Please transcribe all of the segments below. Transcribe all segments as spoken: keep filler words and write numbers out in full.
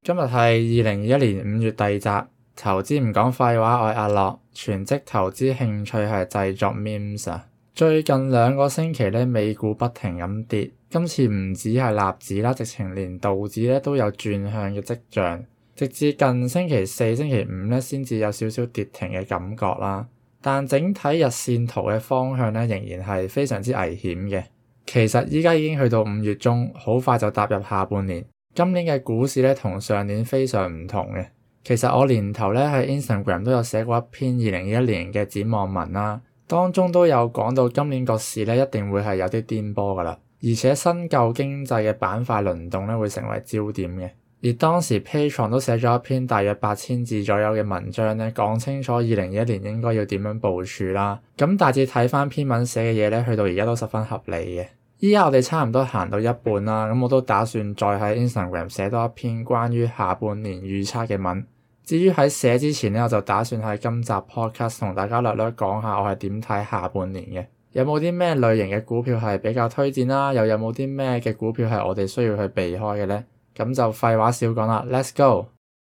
今日係二零二一年五月第二集，投資唔講廢話，我係阿樂，全職投資興趣係製作 memes 啊。最近兩個星期咧，美股不停咁跌，今次唔止係納指啦，直情連道指咧都有轉向嘅跡象，直至近星期四、星期五咧先至有少少跌停嘅感覺啦。但整體日線圖嘅方向咧仍然係非常之危險嘅。其實依家已經去到五月中，好快就踏入下半年。今年嘅股市咧同上年非常唔同嘅。其實我年頭咧喺 Instagram 都有寫過一篇二零二一年嘅展望文啦，當中都有講到今年個市咧一定會係有啲顛簸噶啦，而且新舊經濟嘅板塊輪動咧會成為焦點嘅。而當時 Patreon 都寫咗一篇大約八千字左右嘅文章咧，講清楚二零二一年應該要點樣部署啦。咁大致睇翻篇文寫嘅嘢咧，去到而家都十分合理嘅。依家我哋差唔多行到一半啦，咁我都打算再喺 Instagram 寫多一篇關於下半年預測嘅文。至於喺寫之前咧，我就打算喺今集 podcast 同大家略略講下我係點睇下半年嘅。有冇啲咩類型嘅股票係比較推薦啦？又有冇啲咩嘅股票係我哋需要去避開嘅咧？咁就廢話少講啦 ，Let's go！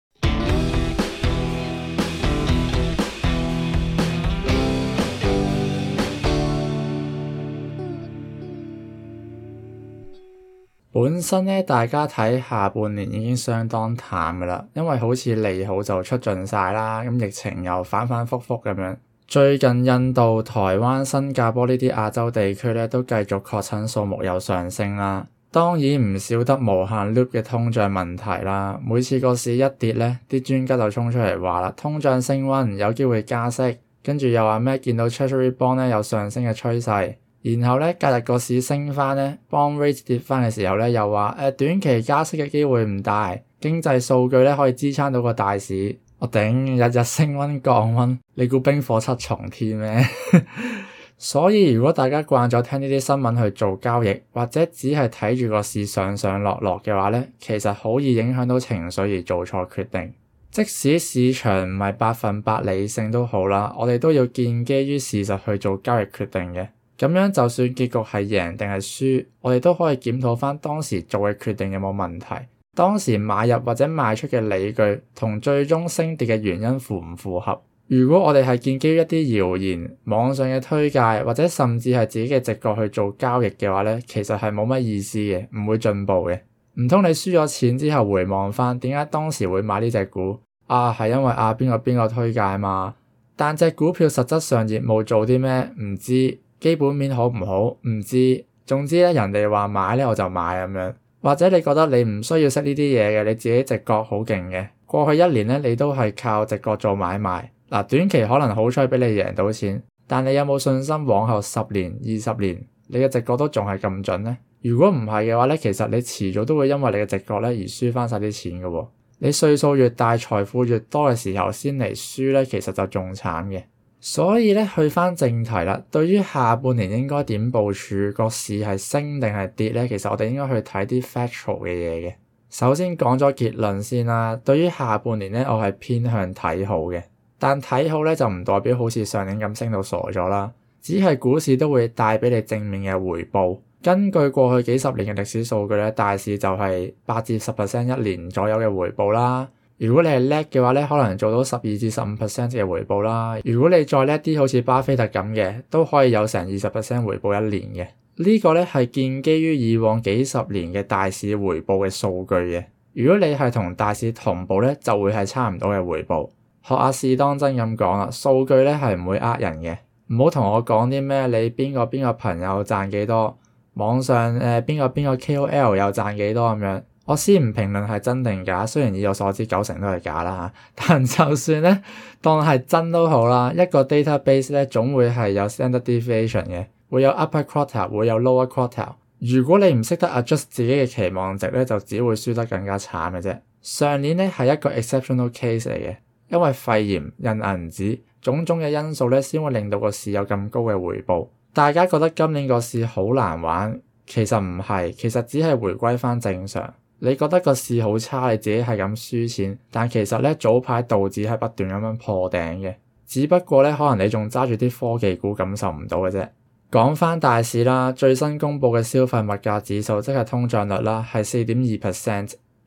本身咧，大家睇下半年已經相當淡噶啦，因為好似利好就出盡晒啦，咁疫情又反反复复咁樣。最近印度、台灣、新加坡呢啲亞洲地區咧都繼續確診數目有上升啦。當然唔少得無限 loop 嘅通脹問題啦。每次個市一跌咧，啲專家就衝出嚟話啦，通脹升溫有機會加息，跟住又話咩見到 Treasury Bond 咧有上升嘅趨勢。然後咧，隔日個市升翻咧 bond rate 跌翻嘅時候咧，又話誒、呃、短期加息嘅機會唔大，經濟數據咧可以支撐到個大市。我頂，日日升溫降溫，你估冰火七重天咩？所以如果大家慣咗聽呢啲新聞去做交易，或者只係睇住個市上上落落嘅話咧，其實好易影響到情緒而做錯決定。即使市場唔係百分百理性都好啦，我哋都要建基於事實去做交易決定嘅。咁樣就算結局係贏定係輸，我哋都可以檢討翻當時做嘅決定有冇問題，當時買入或者賣出嘅理據同最終升跌嘅原因符唔符合。如果我哋係建基於一啲謠言、網上嘅推介或者甚至係自己嘅直覺去做交易嘅話咧，其實係冇乜意思嘅，唔會進步嘅。唔通你輸咗錢之後回望翻，點解當時會買呢隻股？啊，係因為啊邊個邊個推介嘛？但隻股票實質上業務做啲咩唔知。基本面好唔好唔知，總之咧人哋話買咧我就買咁樣。或者你覺得你唔需要識呢啲嘢嘅，你自己直覺好勁嘅，過去一年咧你都係靠直覺做買賣。嗱，短期可能好彩俾你贏到錢，但你有冇信心往後十年、二十年你嘅直覺都仲係咁準咧？如果唔係嘅話咧，其實你遲早都會因為你嘅直覺咧而輸翻晒啲錢㗎喎。你歲數越大，財富越多嘅時候先嚟輸咧，其實就仲慘嘅。所以咧，去翻正題啦。對於下半年應該點部署，個市係升定係跌咧？其實我哋應該去睇啲 factual 嘅嘢嘅。首先講咗結論先啦。對於下半年咧，我係偏向睇好嘅。但睇好咧就唔代表好似上年咁升到傻咗啦。只係股市都會帶俾你正面嘅回報。根據過去幾十年嘅歷史數據咧，大市就係八至十 percent 一年左右嘅回報啦。如果你係叻嘅話咧，可能做到十二至十五 percent 嘅回報啦。如果你再叻啲，好似巴菲特咁嘅，都可以有成二十 percent 回報一年嘅。呢個咧係建基於以往幾十年嘅大市回報嘅數據嘅。如果你係同大市同步咧，就會係差唔多嘅回報。學阿試當真咁講啦，數據咧係唔會呃人嘅。唔好同我講啲咩你邊個邊個朋友賺幾多，網上誒邊個邊個 K O L 又賺幾多咁樣。我先唔評論係真定假，雖然以我所知九成都係假啦嚇，但就算咧當係真都好啦，一個 database 咧總會係有 standard deviation 嘅，會有 upper quartile，會有 lower quartile。如果你唔識得 adjust 自己嘅期望值咧，就只會輸得更加慘嘅啫。上年咧係一個 exceptional case 嚟嘅，因為肺炎、印銀紙種種嘅因素咧，先會令到個市有咁高嘅回報。大家覺得今年個市好難玩，其實唔係，其實只係回歸翻正常。你覺得個市好差，你自己係咁輸錢，但其實咧早排道指係不斷咁樣破頂嘅，只不過咧可能你仲揸住啲科技股感受唔到嘅啫。講翻大市啦，最新公布嘅消費物價指數即係通脹率啦，係四點二 percent。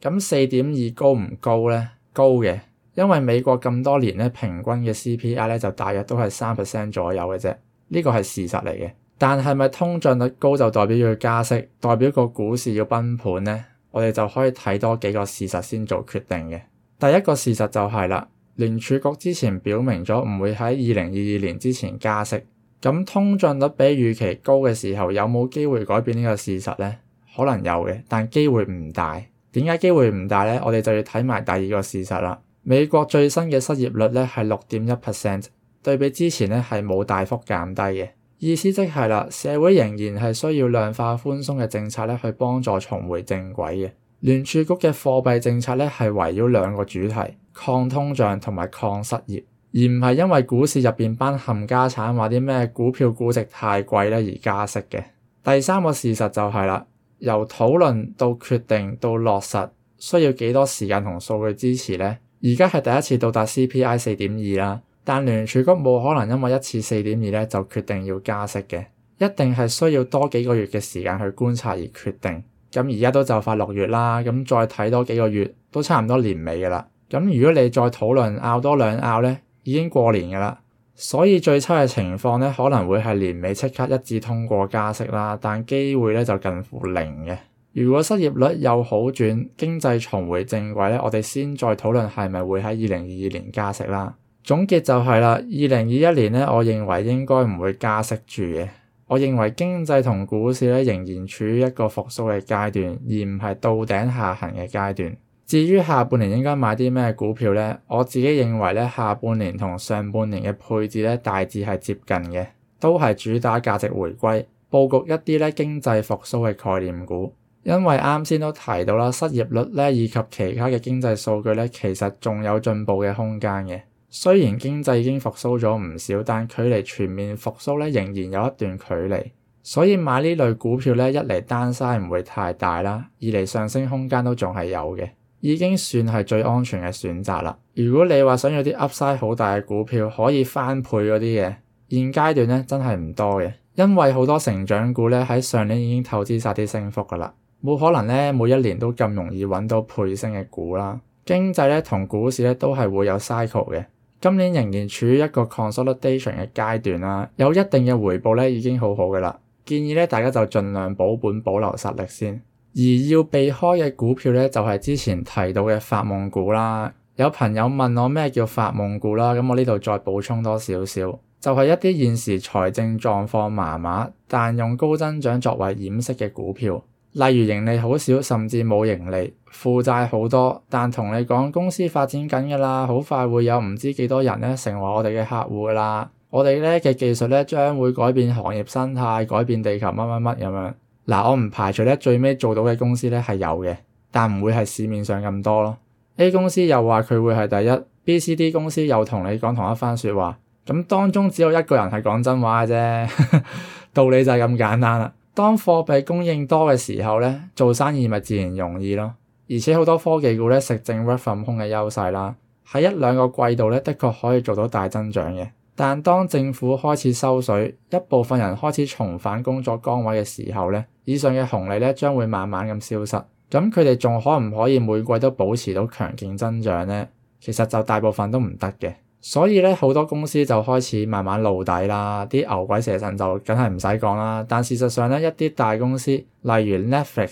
咁四點二高唔高咧？高嘅，因為美國咁多年咧平均嘅 C P I 咧就大約都係三 percent 左右嘅啫，呢個係事實嚟嘅。但係咪通脹率高就代表要加息，代表個股市要崩盤咧？我哋就可以睇多幾個事實先做決定嘅。第一個事實就係啦，聯儲局之前表明咗唔會喺二零二二年之前加息。咁通脹率比預期高嘅時候，有冇機會改變呢個事實咧？可能有嘅，但機會唔大。點解機會唔大咧？我哋就要睇埋第二個事實啦。美國最新嘅失業率咧係六點一 percent， 對比之前咧係冇大幅減低嘅。意思即係啦，社會仍然係需要量化寬鬆嘅政策咧去幫助重回正軌嘅。聯儲局嘅貨幣政策咧係圍繞兩個主題：抗通脹同埋抗失業，而唔係因為股市入邊班冚家產話啲咩股票估值太貴咧而加息嘅。第三個事實就係啦，由討論到決定到落實需要幾多時間同數據支持咧？而家係第一次到達 C P I 四點二啦。但聯儲局冇可能因為一次四點二咧就決定要加息嘅，一定係需要多幾個月嘅時間去觀察而決定。咁而家都就快六月啦，咁再睇多幾個月都差唔多年尾噶啦。咁如果你再討論拗多兩拗咧，已經過年噶啦。所以最差嘅情況咧可能會係年尾即刻一致通過加息啦，但機會咧就近乎零嘅。如果失業率有好轉，經濟重回正軌咧，我哋先再討論係咪會喺二零二二年加息啦。總結就係啦，二零二一年咧，我認為應該唔會加息住嘅。我認為經濟同股市咧仍然處於一個復甦嘅階段，而唔係到頂下行嘅階段。至於下半年應該買啲咩股票咧，我自己認為咧下半年同上半年嘅配置咧大致係接近嘅，都係主打價值回歸，佈局一啲咧經濟復甦嘅概念股。因為啱先都提到啦，失業率咧以及其他嘅經濟數據咧，其實仲有進步嘅空間嘅。雖然經濟已經復甦咗唔少，但距離全面復甦咧仍然有一段距離，所以買呢類股票咧，一嚟單嘥唔會太大啦，二嚟上升空間都仲係有嘅，已經算係最安全嘅選擇啦。如果你話想要啲 Upside 好大嘅股票，可以翻倍嗰啲嘅，現階段咧真係唔多嘅，因為好多成長股咧喺上年已經透支晒啲升幅噶啦，冇可能咧每一年都咁容易揾到倍升嘅股啦。經濟咧同股市咧都係會有 cycle 嘅。今年仍然處於一個 consolidation 嘅階段啦，有一定嘅回報咧已經好好嘅啦。建議咧大家就盡量保本保留實力先。而要避開嘅股票咧就係之前提到嘅發夢股啦。有朋友問我咩叫發夢股啦，咁我呢度再補充多少少，就係一啲現時財政狀況麻麻，但用高增長作為掩飾嘅股票。例如盈利好少，甚至冇盈利，負債好多，但同你講公司發展緊㗎啦，好快會有唔知幾多人咧成為我哋嘅客戶㗎啦。我哋咧嘅技術咧將會改變行業生態，改變地球乜乜乜咁樣。嗱，我唔排除咧最尾做到嘅公司咧係有嘅，但唔會係市面上咁多咯。A 公司又話佢會係第一 ，B、C、D 公司又同你講同一番説話，咁當中只有一個人係講真話嘅啫，道理就係咁簡單啦。當貨幣供應多嘅時候咧，做生意咪自然容易咯。而且好多科技股咧食正 work from home 嘅優勢啦，喺一兩個季度咧的確可以做到大增長嘅。但當政府開始收水，一部分人開始重返工作崗位嘅時候咧，以上嘅紅利咧將會慢慢咁消失。咁佢哋仲可唔可以每季都保持到強勁增長咧？其實就大部分都唔得嘅。所以咧，好多公司就開始慢慢露底啦，啲牛鬼蛇神就梗係唔使講啦。但事實上咧，一啲大公司，例如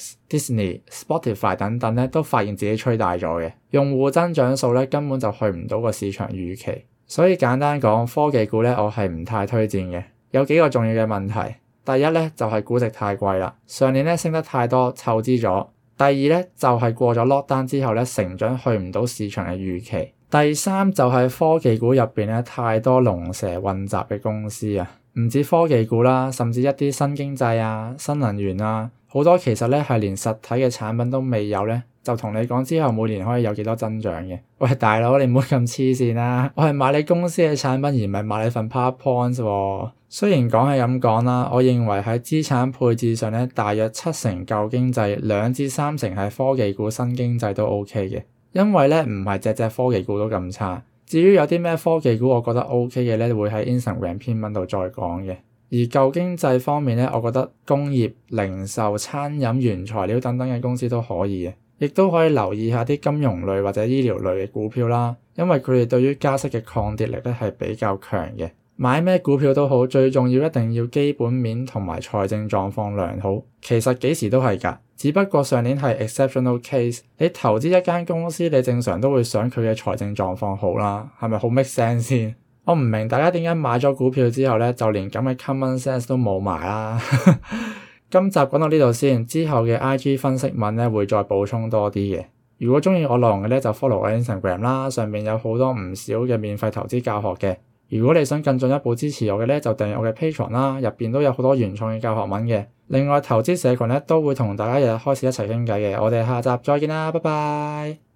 Netflix、Disney、Spotify 等等咧，都發現自己吹大咗嘅，用戶增長數咧根本就去唔到個市場預期。所以簡單講，科技股咧我係唔太推薦嘅。有幾個重要嘅問題，第一咧就係估值太貴啦，上年咧升得太多，湊資咗。第二咧就係過咗 lockdown 之後咧，成長去唔到市場嘅預期。第三就係科技股入邊咧太多龍蛇混雜嘅公司啊，唔止科技股啦，甚至一啲新經濟啊、新能源啊，好多其實咧係連實體嘅產品都未有咧，就同你講之後每年可以有幾多增長嘅。喂，大佬，你唔好咁黐線啦，我係買你公司嘅產品而唔係買你份 PowerPoint 喎。雖然講係咁講啦，我認為喺資產配置上咧，大約七成舊經濟，兩至三成係科技股、新經濟都 OK 嘅。因為咧唔係隻隻科技股都咁差，至於有啲咩科技股我覺得 OK 嘅咧，會喺 Instagram 篇文度再講嘅。而舊經濟方面咧，我覺得工業、零售、餐飲、原材料等等嘅公司都可以嘅， 亦都可以留意下啲金融類或者醫療類嘅股票啦，因為佢哋對於加息嘅抗跌力咧係比較強嘅。買咩股票都好，最重要一定要基本面同埋財政狀況良好。其實幾時都係㗎，只不過上年係 exceptional case。你投資一間公司，你正常都會想佢嘅財政狀況好啦，係咪好 make sense 先？我唔明大家點解買咗股票之後咧，就連咁嘅 common sense 都冇埋啦。今集講到呢度先，之後嘅 I G 分析文咧會再補充多啲嘅。如果鍾意我內容嘅咧，就 follow 我 Instagram 啦，上面有好多唔少嘅免費投資教學嘅。如果你想更進一步支持我嘅咧，就訂閱我嘅 Patreon 啦，入邊都有好多原創嘅教學文嘅。另外投資社群咧都會同大家日日開始一齊傾偈嘅。我哋下集再見啦，拜拜。